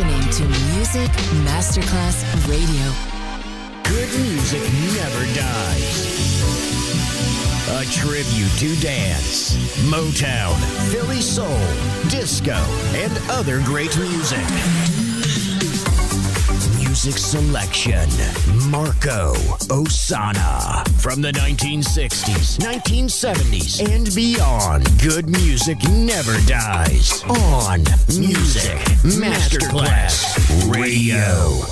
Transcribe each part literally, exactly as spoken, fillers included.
listening to Music Masterclass Radio. Good music never dies. A tribute to dance, Motown, Philly soul, disco, and other great music. Music selection, Marco Ossanna. From the nineteen sixties, nineteen seventies, and beyond, good music never dies. On Music Masterclass Radio.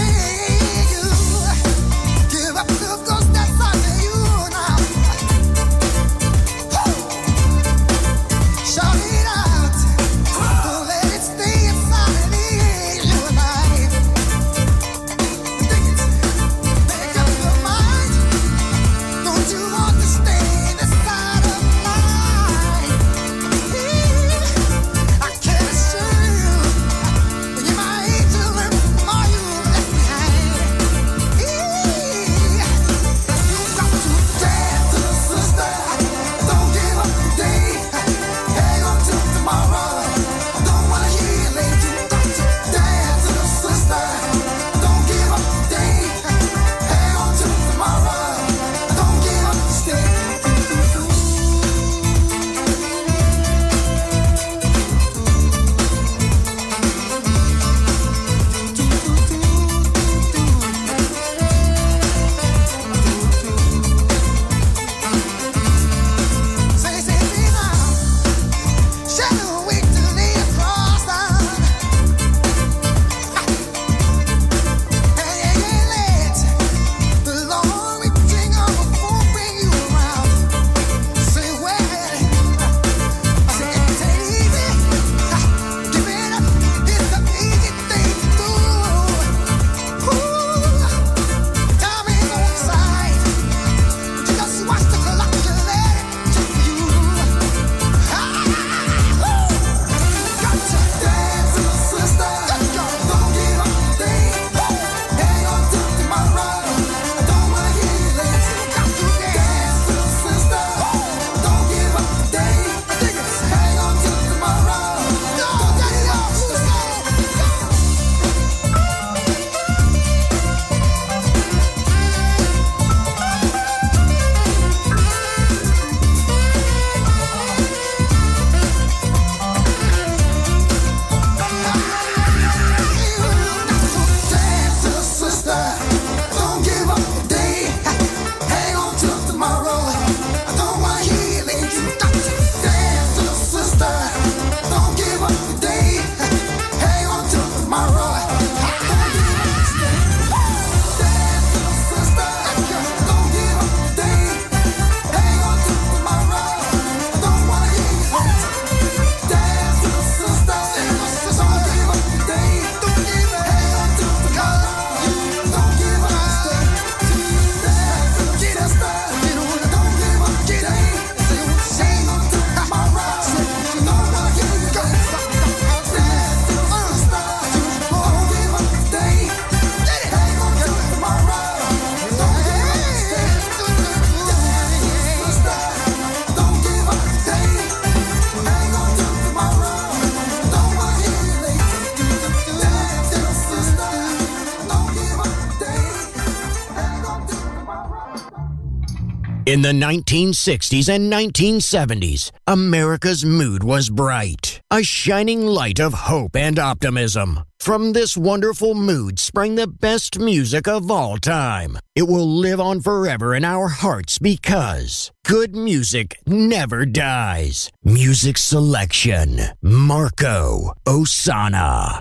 Give up the ghost that's under you now. In the nineteen sixties and nineteen seventies, America's mood was bright, a shining light of hope and optimism. From this wonderful mood sprang the best music of all time. It will live on forever in our hearts because good music never dies. Music selection, Marco Ossanna.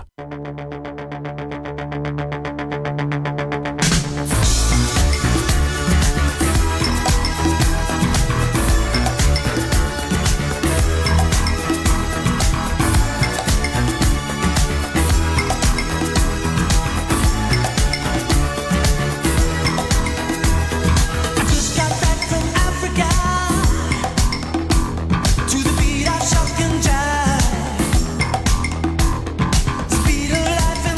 Life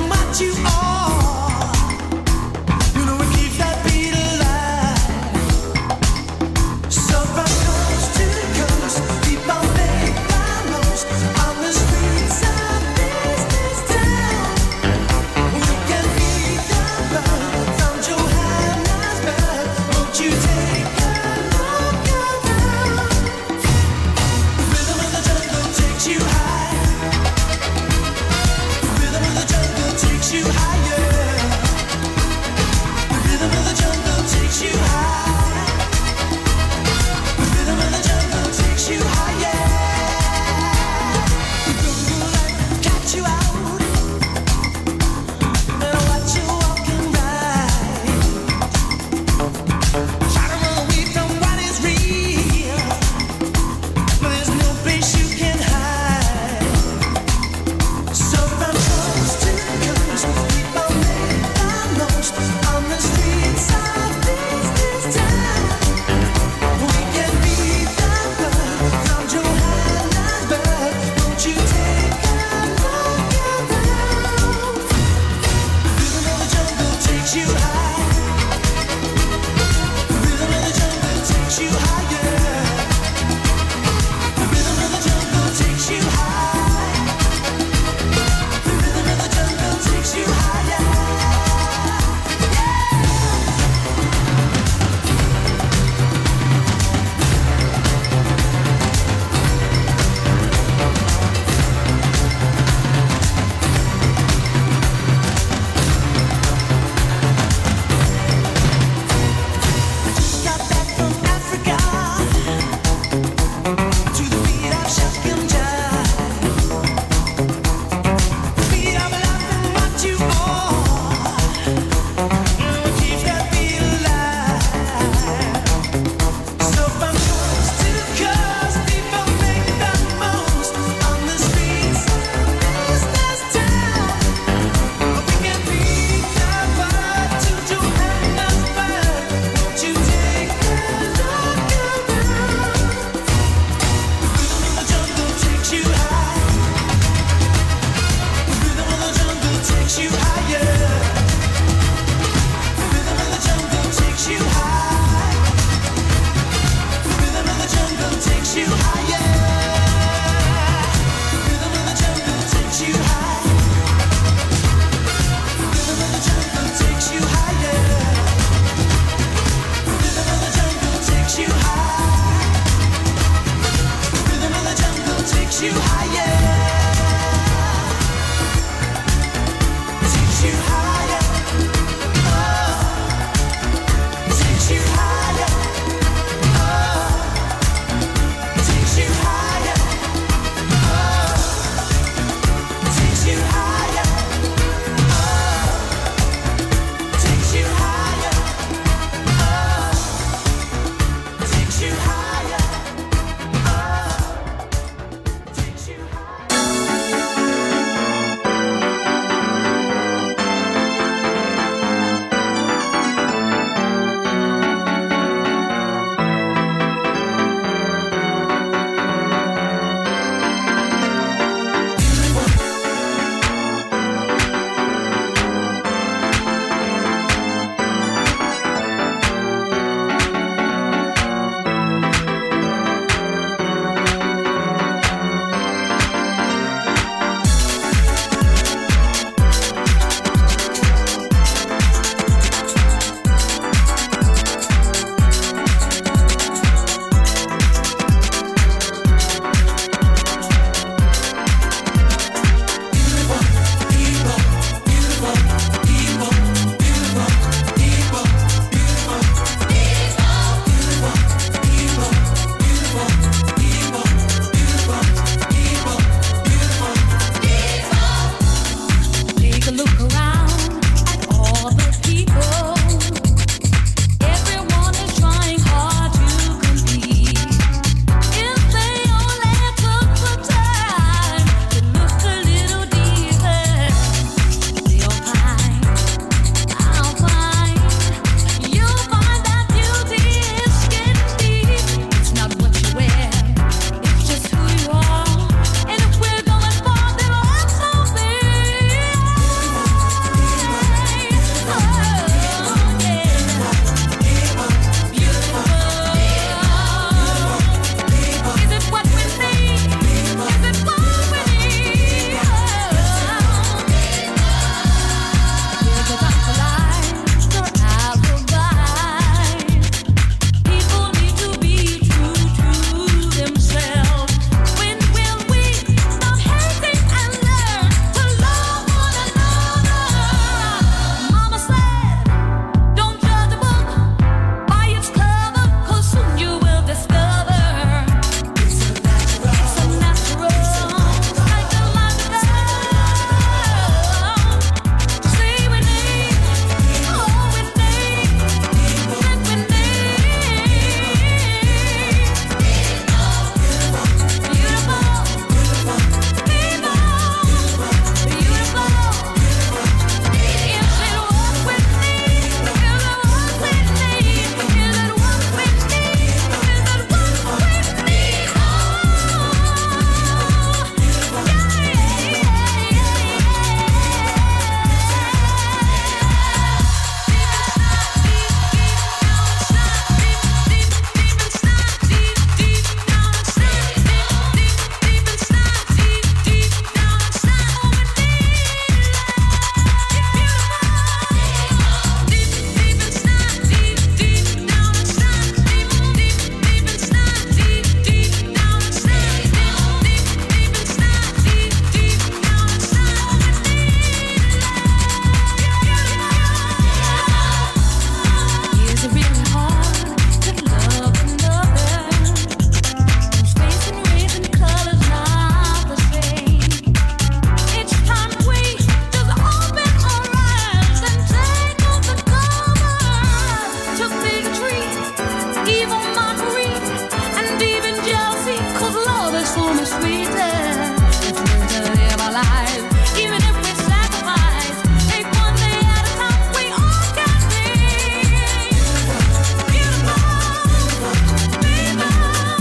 so much sweeter. Let's learn to live our lives, even if we sacrifice. Take one day at a time, we all can be beautiful, beautiful, beautiful. Is it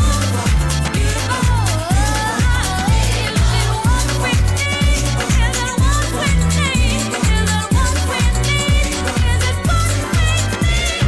what we need? Is it what we need? Is it what we need? Is it what we need?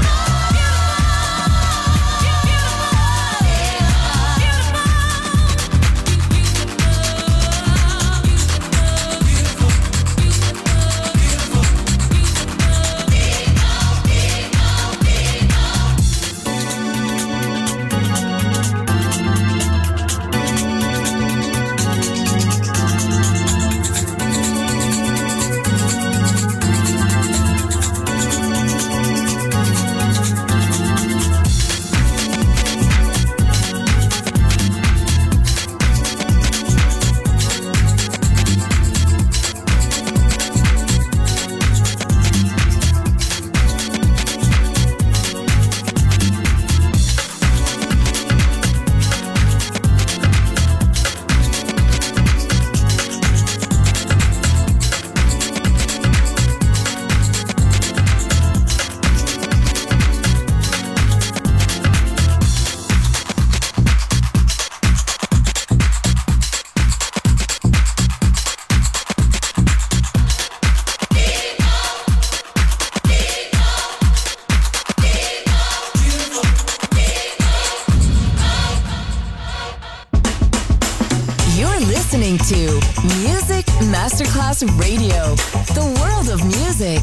Listening to Music Masterclass Radio, the world of music.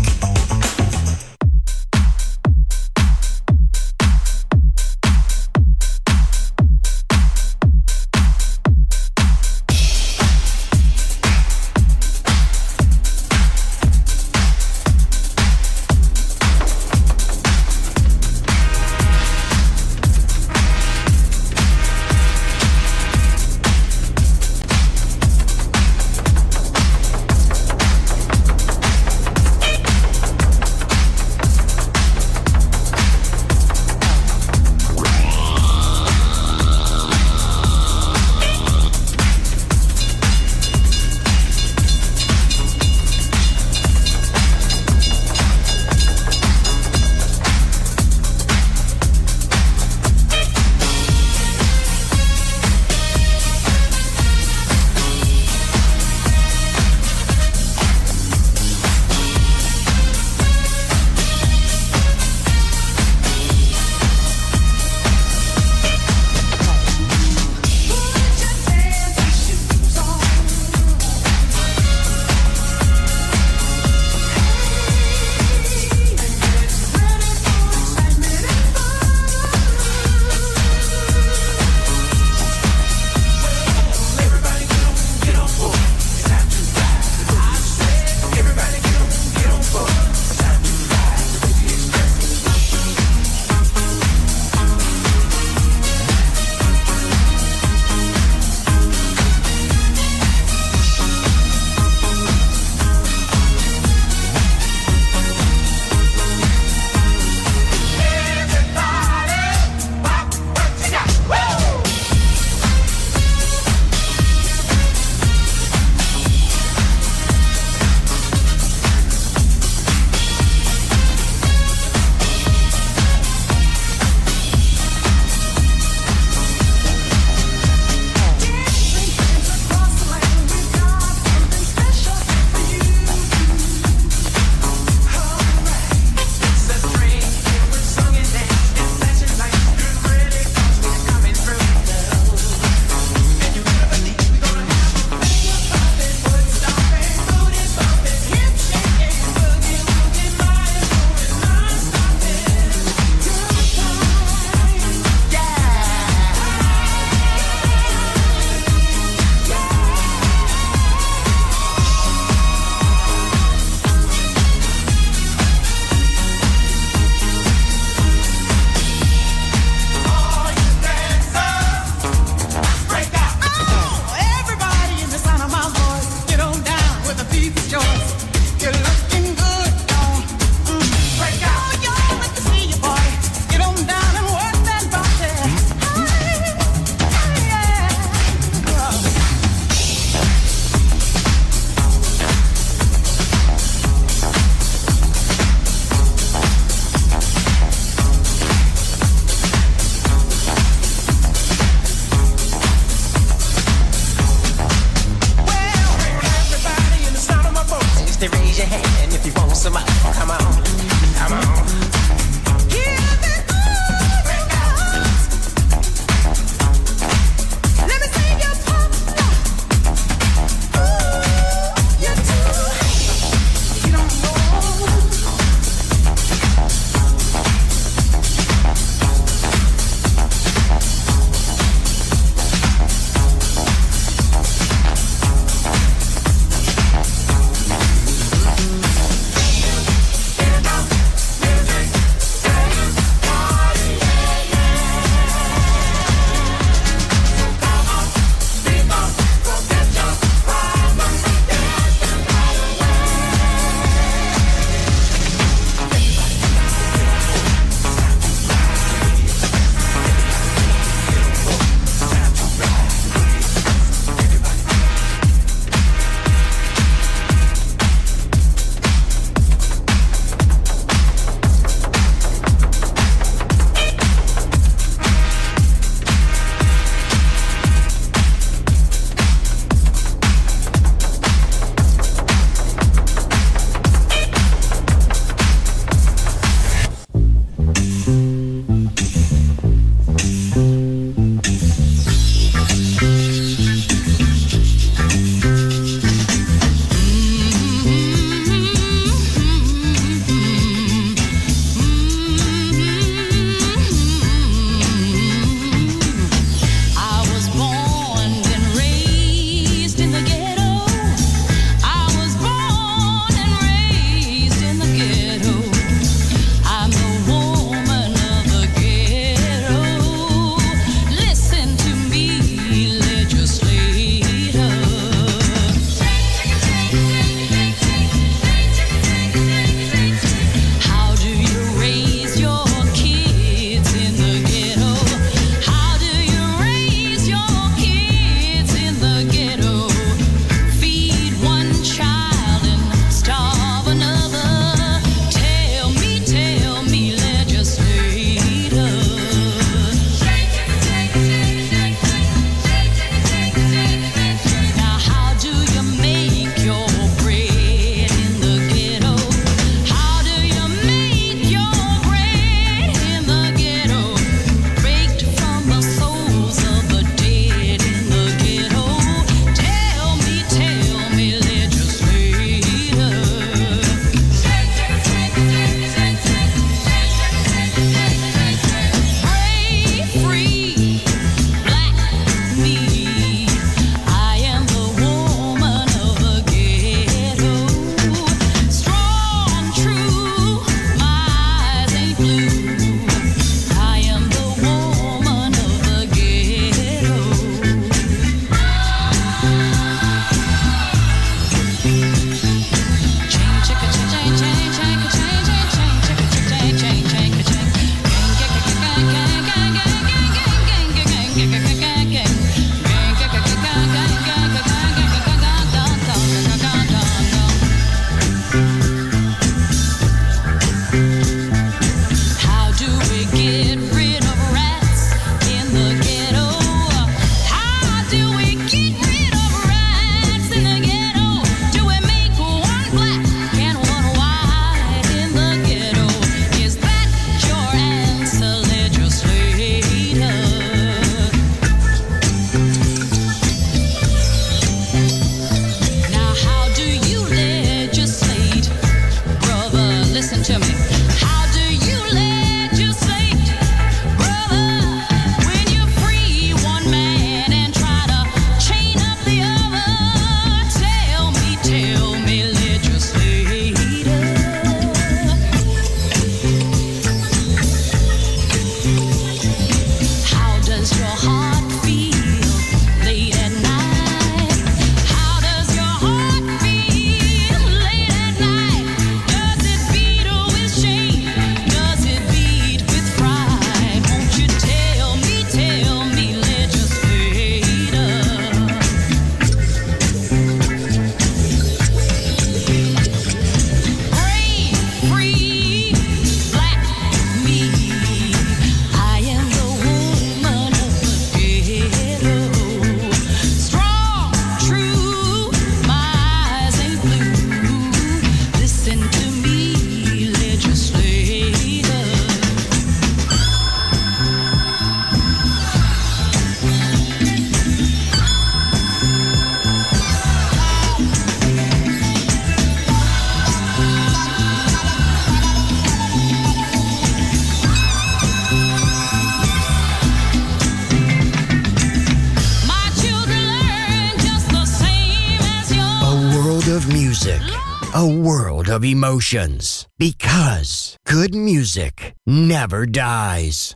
music, a world of emotions. Because good music never dies.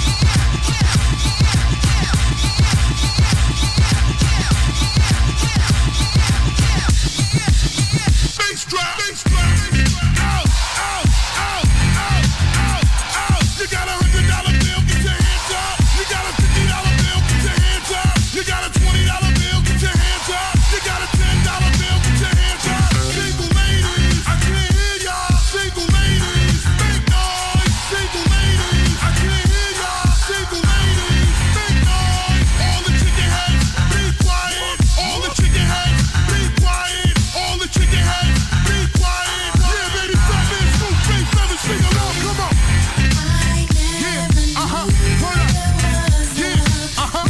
Bass drop, bass drop, out, out, out, out, out, out. You got a hundred dollar bill, get your hands up. You got a fifty dollar bill, get your hands up. You got a twenty dollar bill, get your hands up. You got a ten dollar bill, get your hands up. Single ladies, I can't hear y'all. Single ladies, make noise. Single ladies, I can't hear y'all. Single ladies, make noise. All the chicken heads, be quiet. All the chicken heads, be quiet. All the chicken heads, be quiet. Yeah, baby, stop it. Smooth face, never sing along. Come on. Yeah, uh-huh. Turn up. Yeah, uh-huh.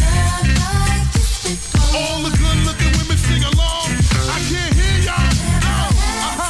All the good looking women sing along. I can't hear y'all. Oh, uh-huh.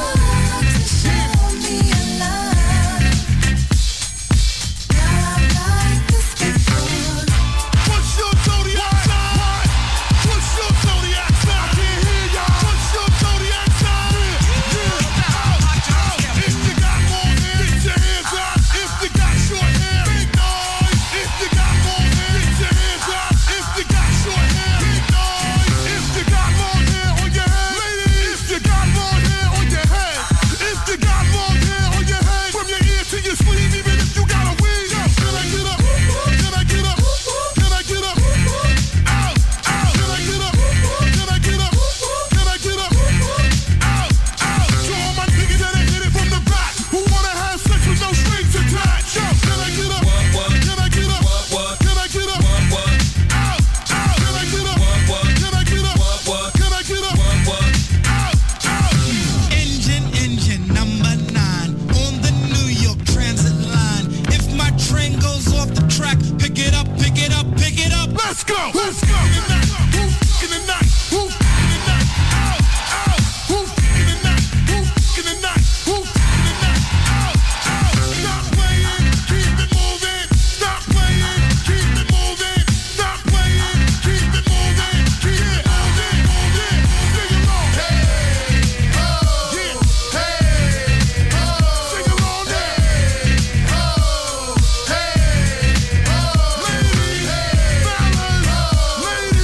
What's your zodiac sign? What's your zodiac sign? I can't hear y'all. What's your zodiac sign? Yeah, out, out. If you got long hair, get your hands up. If you got short hair, make noise. If you got long hair, get your hands up. If you got short hair, make noise. If you got long hair on your head, ladies. If you got long hair on your head, if you got long hair on your head, from your ear to your sleeve, even if you got a wig. Can I get up? Can I get up? Can I get up? Out, out. Can I get up? Can I get up? Can I get up? Out, out. To all my niggas that ain't hit it from the back, who wanna have sex with no strings attached. Yo, can I get up? Can I get up? Can I get up? Out, out. Can I get up? Can I get up? Can I get up? Out, out. Engine, engine number nine on the New York Transit line. If my train goes off the track, pick it up, pick it up, pick it up. Let's go. Let's go. In the night. Who in the night? Who in the night? Out, out. Who in the night? Who in the night? Who in the night? Out, out. Stop playing. Keep it moving. Stop playing. Keep it moving. Stop playing. Keep it moving. Keep it moving. Moving. Sing along. Hey, ho. Yeah. Hey, ho. Sing along. Hey, ho. Hey, ho. Ladies, fellas, ladies,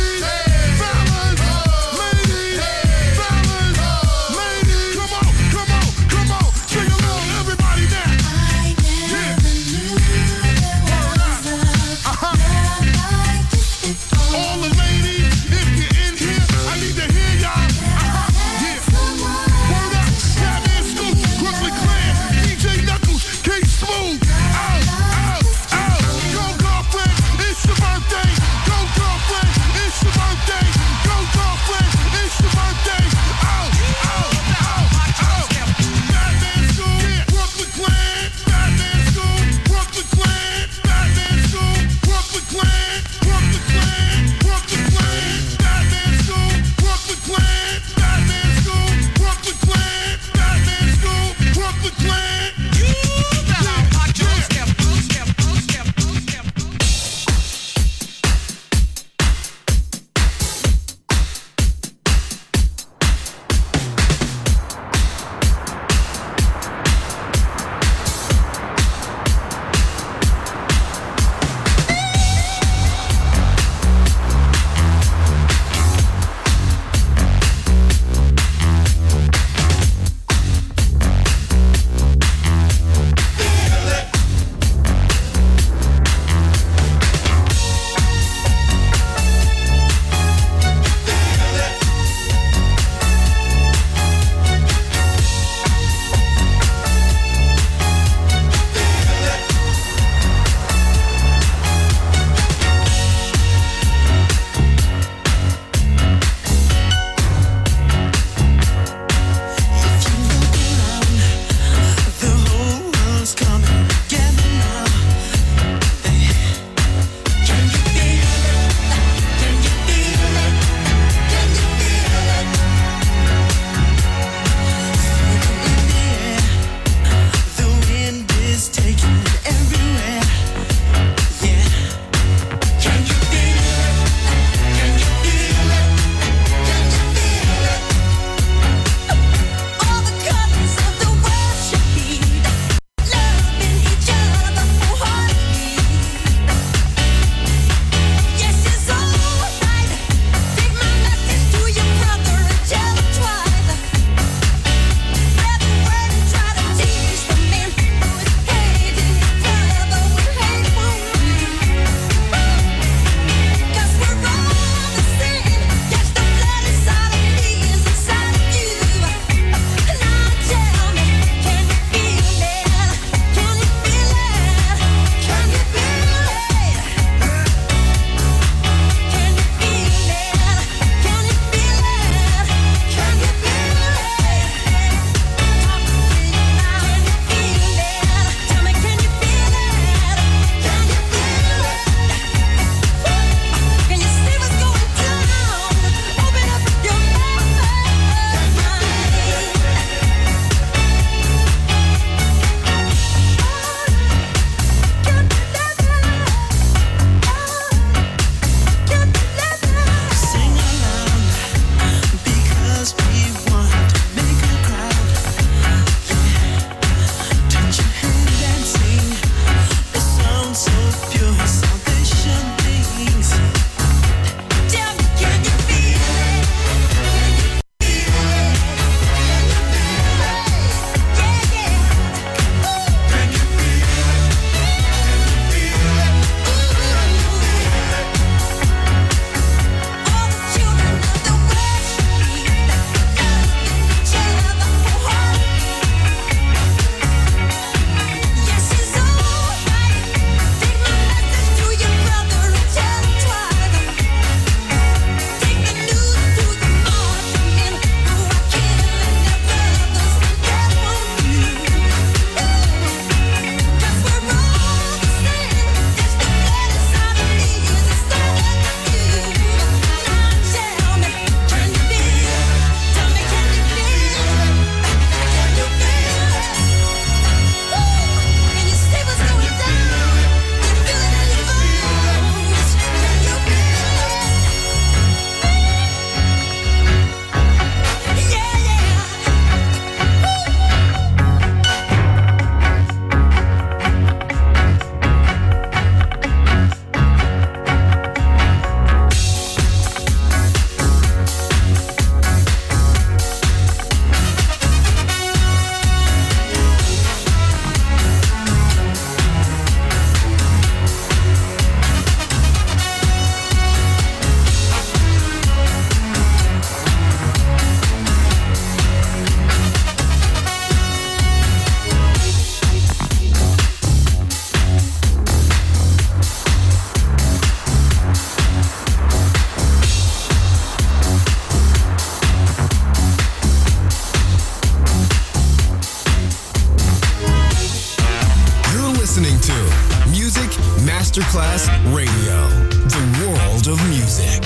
Masterclass Radio, the world of music.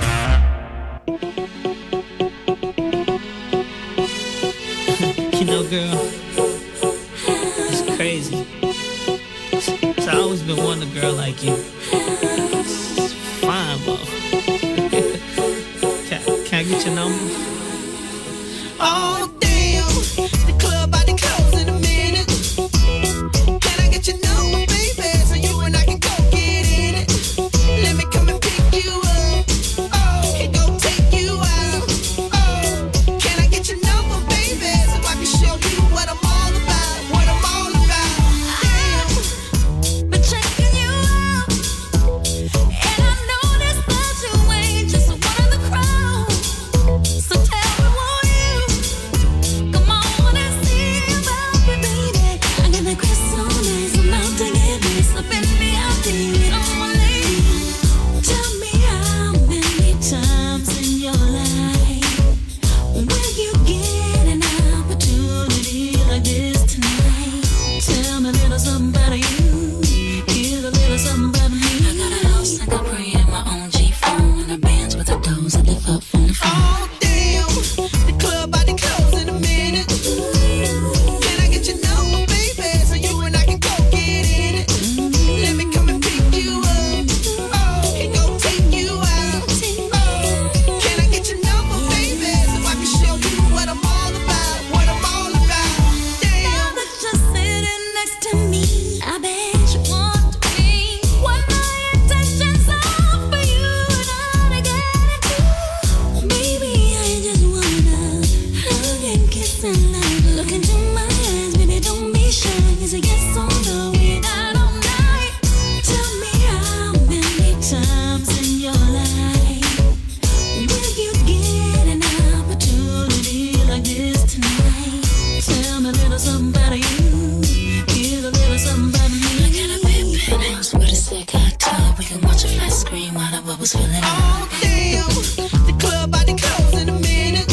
You know, girl, it's crazy. So I always been wanting a girl like you. It's fine, motherfucker. can, can I get your number? Oh damn, the club about to close in a minute. Can I get your number, baby, so you and I can go get in it? Let me come and pick you up, oh, and go take you out. Oh, can I get your number, baby, so I can show you what I'm all about, what I'm all about? Damn. Been checking you out, and I noticed that you ain't just one of the crowd. So tell me, won't you come on and see about me, baby? I got that crystal nice, I'm out to get this. So baby, I'll be only. Tell me how many times in your life will you get an opportunity like this tonight? Tell me a little something about you. Here's a little something about me. I got a house I got pray in my own G-phone, and a bands with the doors that lift up from the phone. Oh damn, the club about to close in a minute. Can I get your number, baby, so you and I can go get in it? Let me come and pick you up, oh, and go take you out. Oh, can I get your number, baby, so I can show you what I'm all about, what I'm all about? Now Damn. that you're sitting next to me, I bet you want to be what my intentions are for you and I to get into. Baby, I just wanna hug and kiss and love. Look into my eyes, baby, don't be shy. It's a yes or no, we're out all night. Tell me how many times in your life will you get an opportunity like this tonight? Tell me a little something about you. Here's a little something about me. I got a big penthouse with a sick hot tub. We can watch a flat screen while the bubbles filling up. Oh damn, the club about to close in a minute.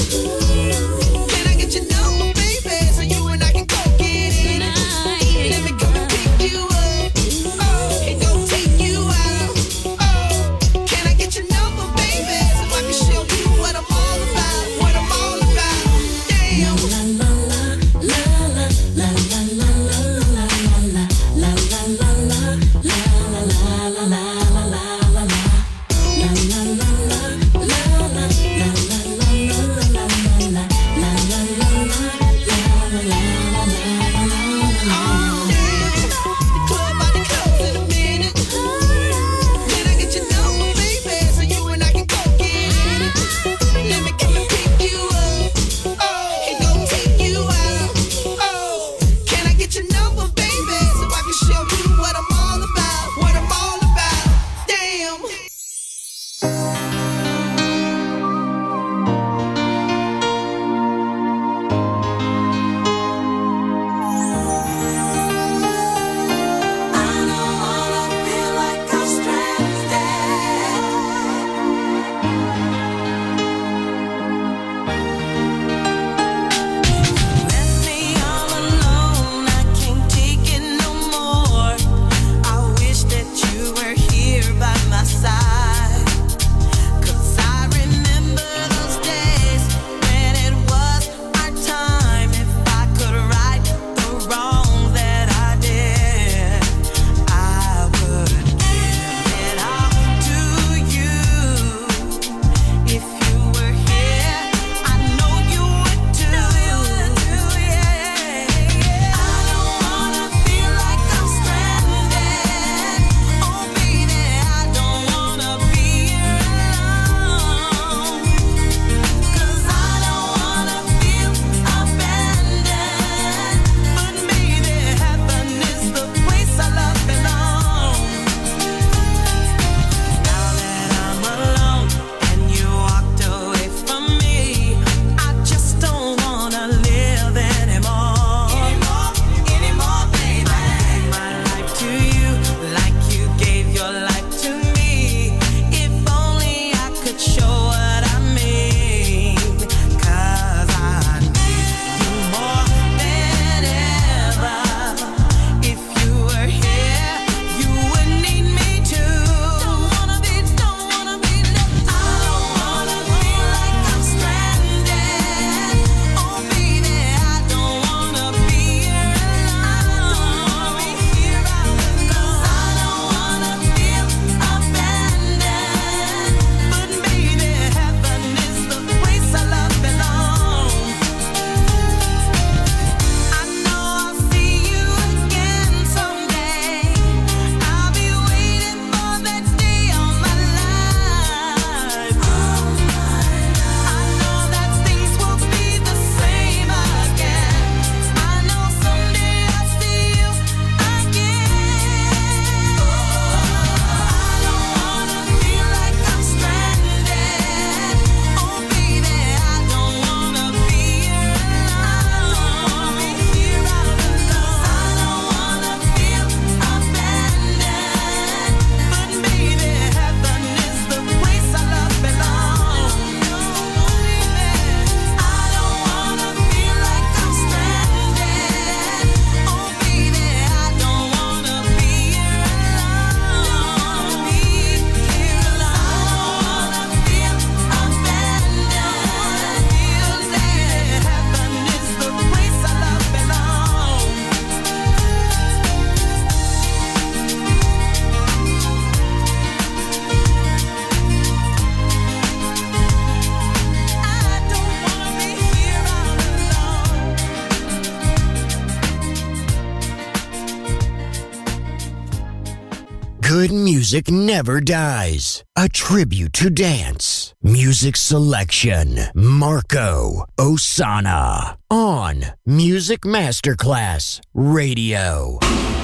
Can I get your number, baby, so you and I can go get in it? Let me come and pick you up, oh, and go take you out. Oh, can I get your number, baby, so I can show you what I'm all about, what I'm all about? Damn. La la la la la la la la la la la la la la la la la la la. good music never dies. A tribute to dance. Music selection. Marco Ossanna. On Music Masterclass Radio.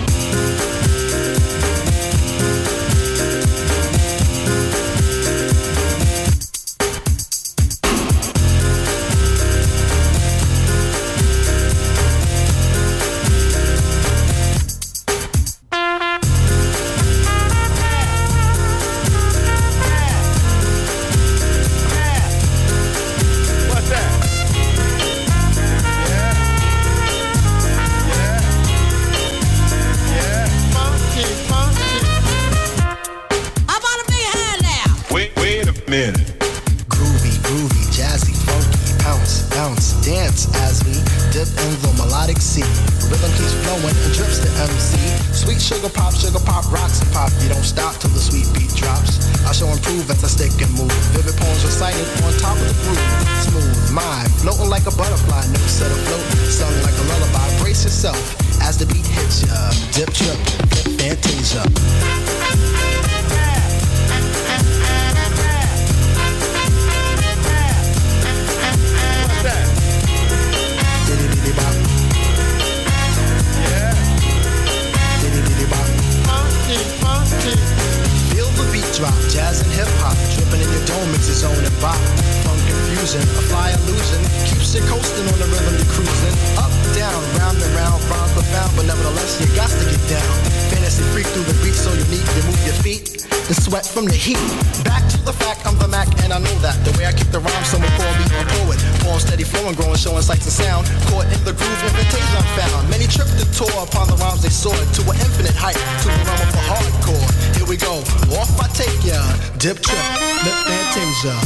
Groovy, groovy, jazzy, funky, bounce, bounce, dance as we dip in the melodic sea. Rhythm keeps flowing and drips the M C. Sweet sugar pop, sugar pop, rocks and pop. You don't stop till the sweet beat drops. I shall improve as I stick and move. Vivid poems recited on top of the groove. Smooth, mind, floating like a butterfly. Notes set afloat, sung like a lullaby. Brace yourself as the beat hits ya. Dip, trip, flip, fantasia. Feel the beat drop, jazz and hip hop, dripping in your dome makes your zone and bop. Funk confusion, a fly illusion, keeps you coasting on the rhythm you're cruising. Up, down, round and round, rhymes profound, but nevertheless you got to get down. Fantasy freak through the beat so unique, you move your feet and sweat from the heat. Back to the fact, I'm the Mac and I know that. The way I kick the rhyme, someone call me a poet. Poem steady flowing, growing, showing sights and sound. Caught in the groove, invitation I'm found. Many tripped and tore upon the rhymes they soared to an infinite height, to the realm of the hardcore. Here we go, off I take ya. Dip, trip, lip, fantasia.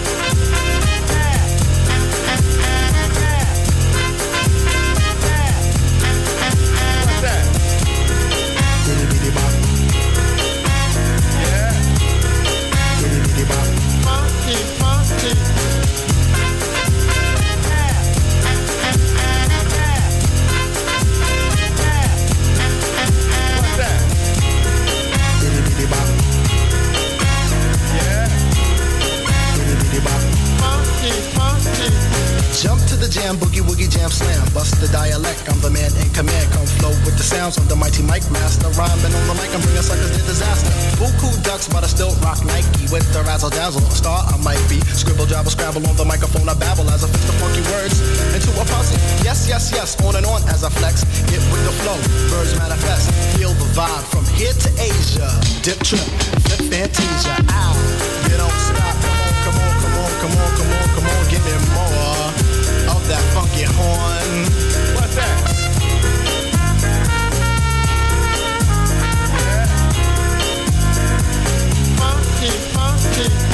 Jump to the jam, boogie woogie jam slam. Bust the dialect, I'm the man in command. Come flow with the sounds of the mighty mic master. Rhyming on the mic, I'm bringing suckers to disaster. Buku ducks, but I still rock Nike. With the razzle dazzle, a star I might be. Scribble, jabble, scrabble on the microphone, I babble as I fix the funky words into a puzzle. Yes, yes, yes, on and on as I flex. Get with the flow, birds manifest. Feel the vibe from here to Asia. Dip, trip, flip, fantasia. Ow, you don't stop. Come on, come on, come on, come on, come on, come on. Give me more of that funky horn. What's that? Yeah. Funky, funky.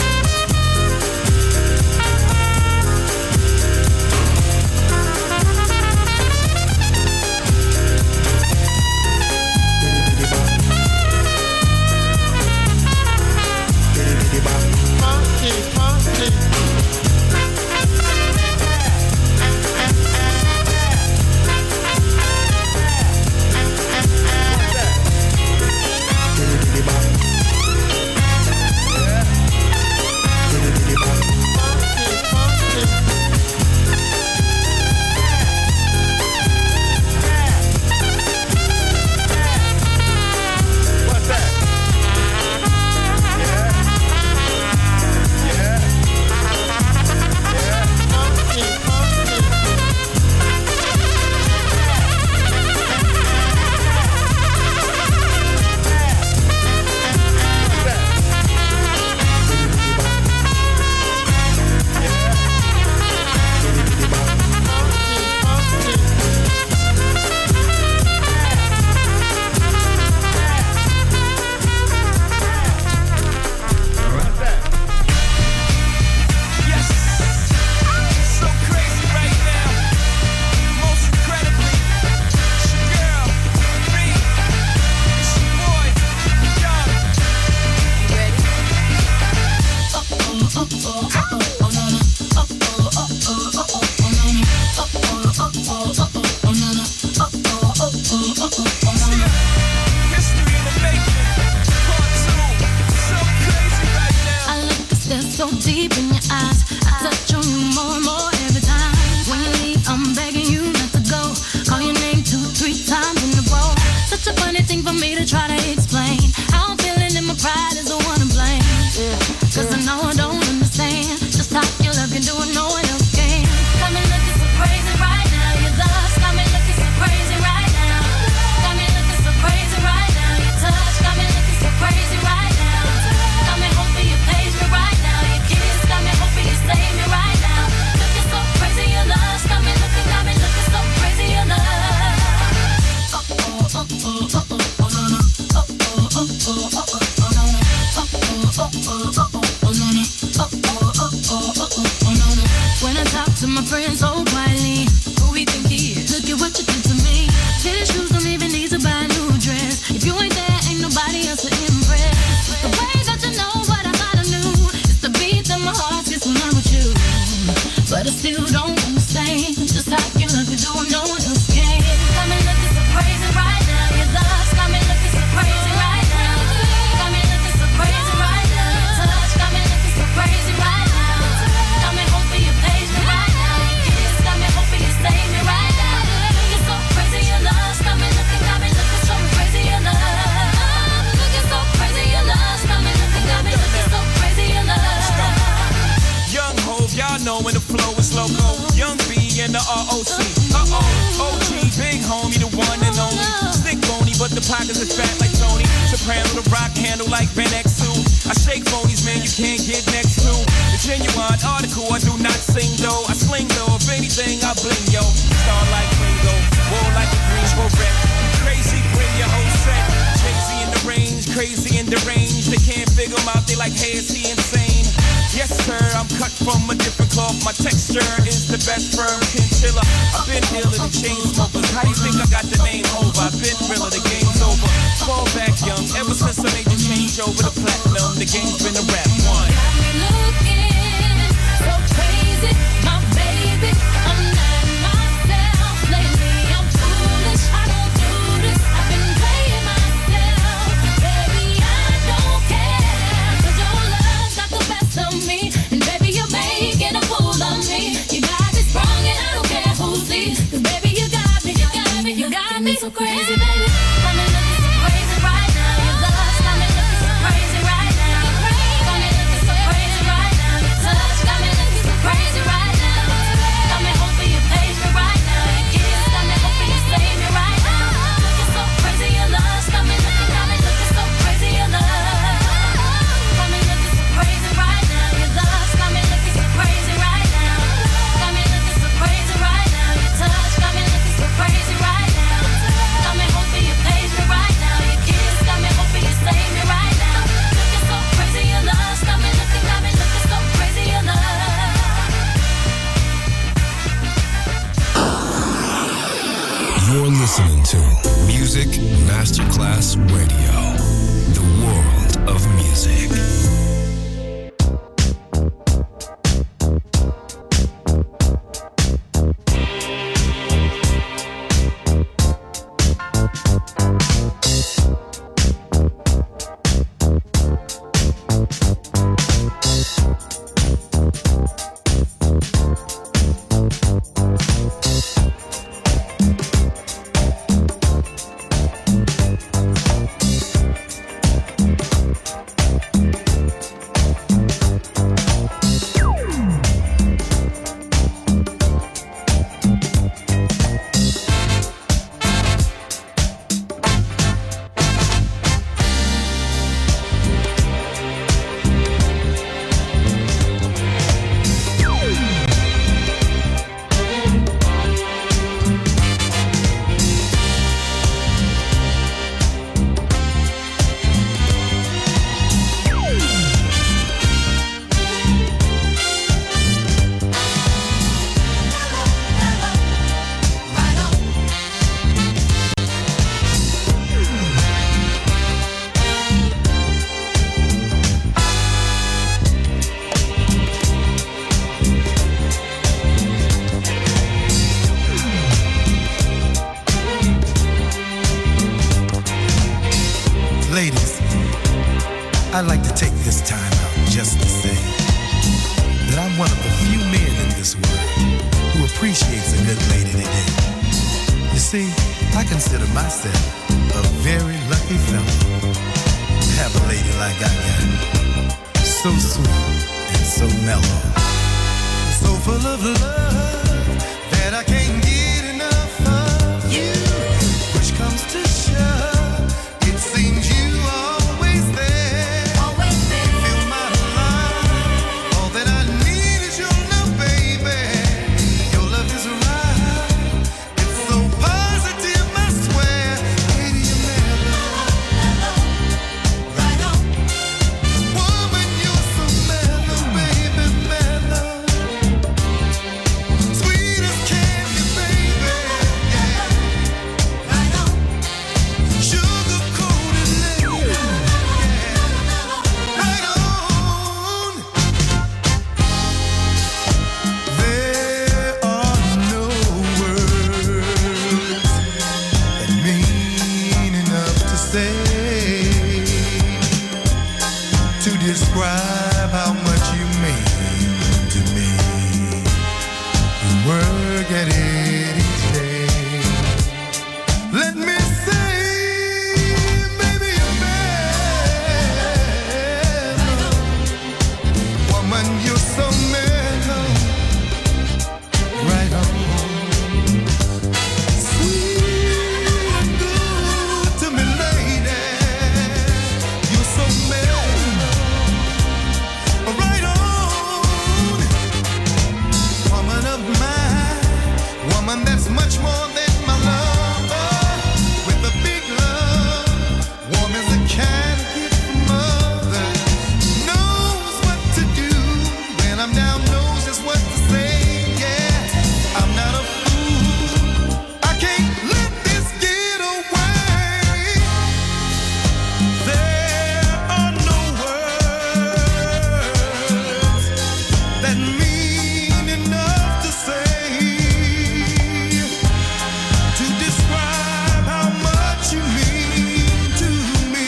deep in your eyes. I touch on you more and more every time. When you leave, I'm begging you not to go. Call your name two, three times in a row. Such a funny thing for me to try to explain. How I'm feeling and my pride is the one to blame. Cause I know I don't understand just how your love can do it, no one else can. Got me looking so crazy right now. Your love got me looking so crazy right now. Got me looking so crazy right now. Your touch got me looking so crazy right now. Got me hoping you page me right now. Your kiss got me hoping you save me right now. Looking so crazy, your love got me looking, got me looking so crazy, your love. Oh oh oh oh oh oh oh no no. Oh oh oh oh oh oh oh no no. Oh oh oh oh oh oh no no. Oh oh oh oh oh oh no no. When I talk to my friends so quietly, who we think he is? Look at what you did to me. Tennis shoes don't even need to buy a new dress. If you ain't there, ain't nobody else to impress. The way that you know what I gotta do is the beat that my heart gets when I'm with you. But I still don't understand just how you look and do it, no one else can. Got me looking so crazy right now. Your love got me looking so crazy right now. Got me looking so crazy right now. Your touch got me looking so crazy right now. Got me hoping you page me right now. Your kiss got me hoping you save me right now. Looking so crazy, your love got me looking, got me looking so crazy, your love. Looking so crazy, your love got me looking, got me looking so crazy, your love. Young Hov, y'all know when the flow is loco. Young B and the R O C. Uh-oh, O G, big homie, the one and only. Stick bony, but the pockets are fat like Tony. Soprano, the rock handle like Ben X two. I shake phonies, man, you can't get next to. The genuine article, I do not sing though. I sling though, if anything, I bling yo. Star like Ringo, war like a green beret. Crazy, bring your whole set. Crazy in the range, crazy in the range. They can't figure him out, they like, hey, is he insane? Yes, sir, I'm cut from a different cloth. My texture is the best firm chinchilla. I've been dealing with chain smokers. How do you think I got the name over? I've been realer, the game's over. Fall back young, ever since I made the change over the platinum. The game's been a rap one. Got me looking so crazy, my baby. I'm not myself lately. I'm foolish. I don't do this. I've been playing myself, baby. I don't care. 'Cause your love got the best of me, and baby you're making a fool of me. You got me sprung, and I don't care who sees. 'Cause baby you got me, you got me, you got me so crazy, baby. Got me looking so crazy right now. Your love got me looking so crazy right now. Got me looking so crazy right now. Your touch got me looking so crazy right now. Got me hoping you page me right now. Your kiss got me hoping you save me right now. Looking so crazy, your love got me looking, got me looking so crazy, your love. Got me looking so crazy right now. Your love got me looking so crazy right now. Got me looking so crazy right now. Your touch got me looking so crazy right now. Got me hoping you page me right now. Your kiss got me hoping you save me right now. Looking so crazy, your love got me looking, got me looking so crazy, your love. You're listening to Music Masterclass Radio, the world of music. Ladies, I'd like to take this time out just to say this world who appreciates a good lady today. You see, I consider myself a very lucky fellow to have a lady like I got. So sweet and so mellow. So full of love that I can't get enough of you. Push comes to shove, it seems you always there. Always there. Feel my love. All that I need is your love, baby. Your love is right. It's so positive, I swear. Lady, you never. Right on. Woman, you're so mellow, baby, mellow. Sweet as candy, baby. Yeah. Right on. Sugar coated lady. Yeah. Right on. There are no words that mean enough to say to describe how much you mean to me. You work at it each day. Let me say, baby, you're mellow. Woman, you're so mellow. Right on. Sweet and good to me, lady. You're so mellow. Right on. Woman of mine. Woman that's much more than my lover. With a big love. Warm as a cat gift from mother. Knows what to do. When I'm down, knows just what to say. Yeah, I'm not a fool. I can't let this get away. There are no words that mean enough to say to describe how much you mean to me.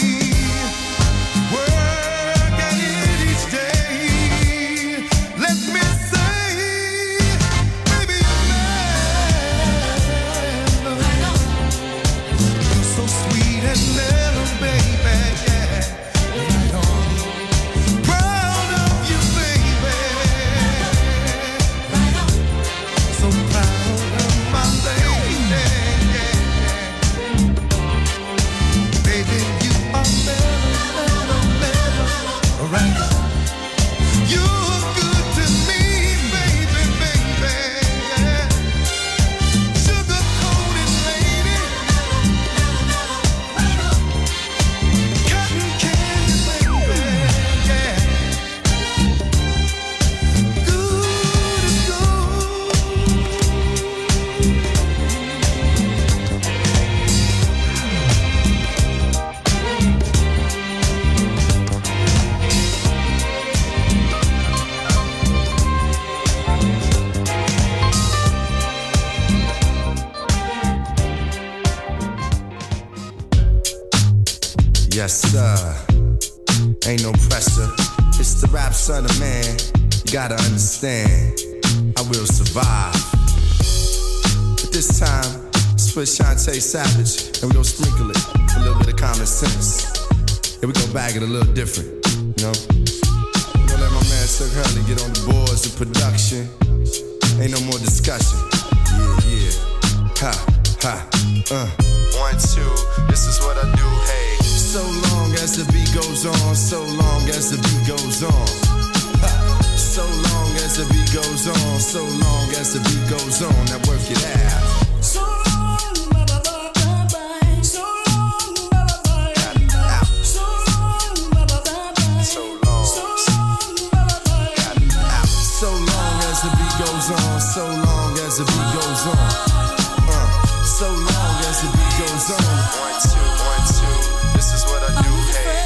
Work at it each day. Let me say, baby, you're mellow. You're so sweet and mellow, baby. Yeah. Right on. Proud of you, baby. Right on. So proud of my lady. Yeah. Baby, you are mellow, mellow, mellow. Right on. You're good to me, baby, baby. Yeah. Sugar-coated lady. Cotton candy, baby. Yeah. Good as gold. Yes, sir. Ain't no pressure. It's the rap son of man. You gotta understand. I will survive. But this time, let's put Shantae Savage and we gon' sprinkle it with a little bit of common sense. And we gon' bag it a little different, you know? We gon' let my man Chuck Hurley get on the boards of production. Ain't no more discussion. Yeah, yeah. Ha, ha, uh. One, two, this is what I do, hey. So long as the beat goes on, so long as the beat goes on. Ha. So long as the beat goes on, so long as the beat goes on. Now work it out. So long, bye bye bye bye. So long, bye bye bye bye. So long, bye bye bye. So long, so long, bye bye bye. So long as the beat goes on, so long as the beat goes on. Uh, so long as the beat goes on. One two, one two. This is what I do, hey.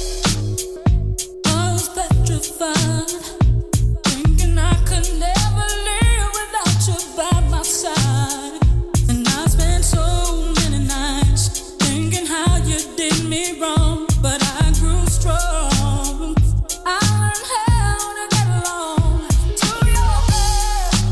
I was petrified, thinking I could never live without you by my side. And I spent so many nights thinking how you did me wrong, but I grew strong. I learned how to get along to your bed.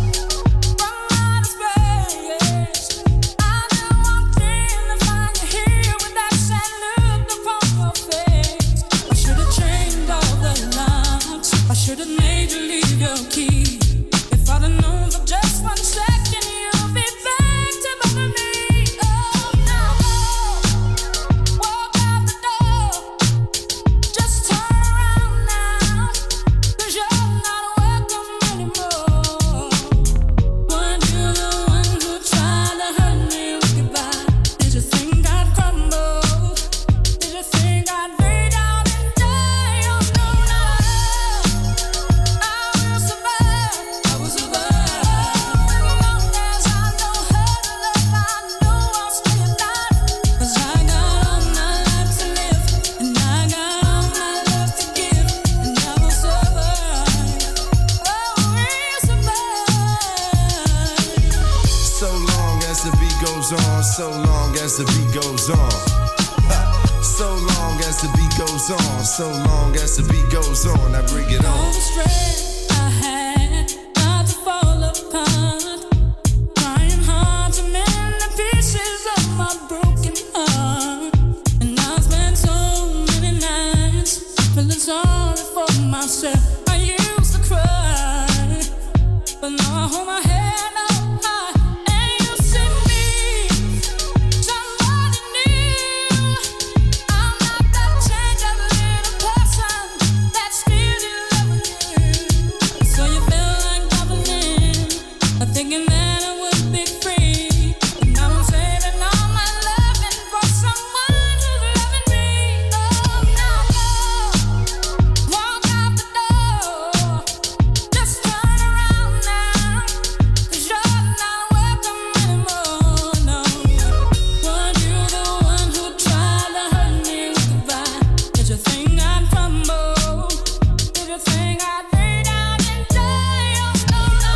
So long as the beat goes on. Ha. So long as the beat goes on. So long as the beat goes on. I bring it All on. the stress I had, not to fall apart. Trying hard to mend the pieces of my broken heart. And I spent so many nights feeling sorry for myself. I used to cry, but now I hold my head up high. And you see me, somebody new. I'm not that changed up little person that's still in love with you. So you feel like bubbling, I'm thinking that I would be free. And now I'm saving all my loving for someone who's loving me. Oh, now go, walk out the door. Just turn around now, 'cause you're not welcome anymore, no. Weren't you the one who tried to hurt me with goodbye? Did you think I'd crumble? Did you think I'd lay down and die? Oh, no, no.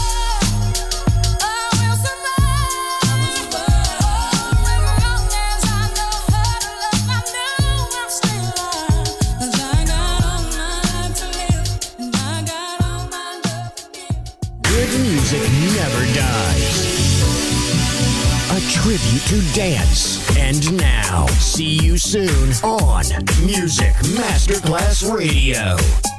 I will survive. Oh, as long as I know how to love, I know I'm still alive. 'Cause I got all my life to live, and I got all my love to give. Good music never dies. A tribute to dance. And now, see you soon on Music Masterclass Radio.